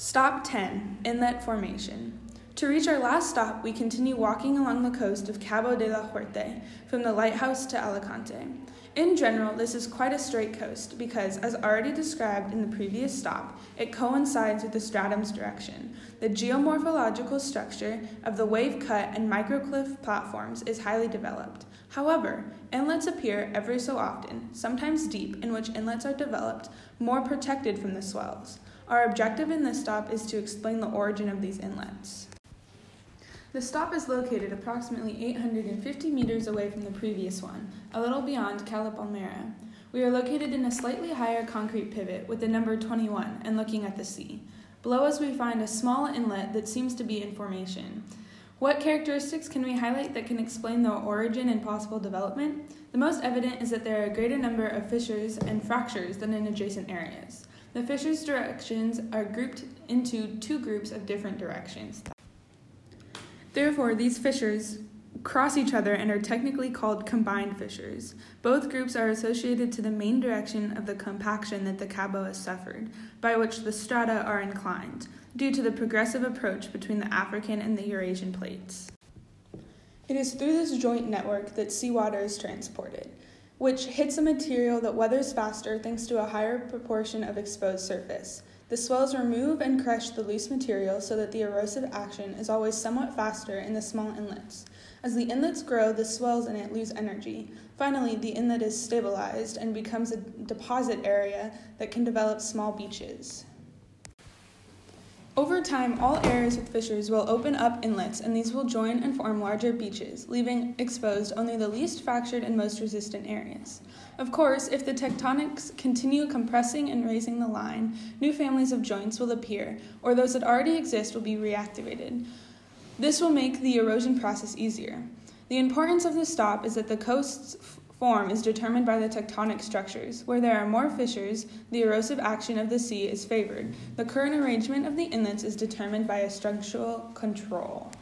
Stop 10, Inlet Formation. To reach our last stop, we continue walking along the coast of Cabo de la Huerte, from the lighthouse to Alicante. In general, this is quite a straight coast because, as already described in the previous stop, it coincides with the stratum's direction. The geomorphological structure of the wave-cut and microcliff platforms is highly developed. However, inlets appear every so often, sometimes deep, in which inlets are developed, more protected from the swells. Our objective in this stop is to explain the origin of these inlets. The stop is located approximately 850 meters away from the previous one, a little beyond Cala Palmera. We are located in a slightly higher concrete pivot with the number 21 and looking at the sea. Below us we find a small inlet that seems to be in formation. What characteristics can we highlight that can explain the origin and possible development? The most evident is that there are a greater number of fissures and fractures than in adjacent areas. The fissures' directions are grouped into two groups of different directions. Therefore, these fissures cross each other and are technically called combined fissures. Both groups are associated to the main direction of the compaction that the Cabo has suffered, by which the strata are inclined, due to the progressive approach between the African and the Eurasian plates. It is through this joint network that seawater is transported, which hits a material that weathers faster thanks to a higher proportion of exposed surface. The swells remove and crush the loose material so that the erosive action is always somewhat faster in the small inlets. As the inlets grow, the swells in it lose energy. Finally, the inlet is stabilized and becomes a deposit area that can develop small beaches. Over time, all areas with fissures will open up inlets, and these will join and form larger beaches, leaving exposed only the least fractured and most resistant areas. Of course, if the tectonics continue compressing and raising the line, new families of joints will appear, or those that already exist will be reactivated. This will make the erosion process easier. The importance of this stop is that the coast's form is determined by the tectonic structures. Where there are more fissures, the erosive action of the sea is favored. The current arrangement of the inlets is determined by a structural control.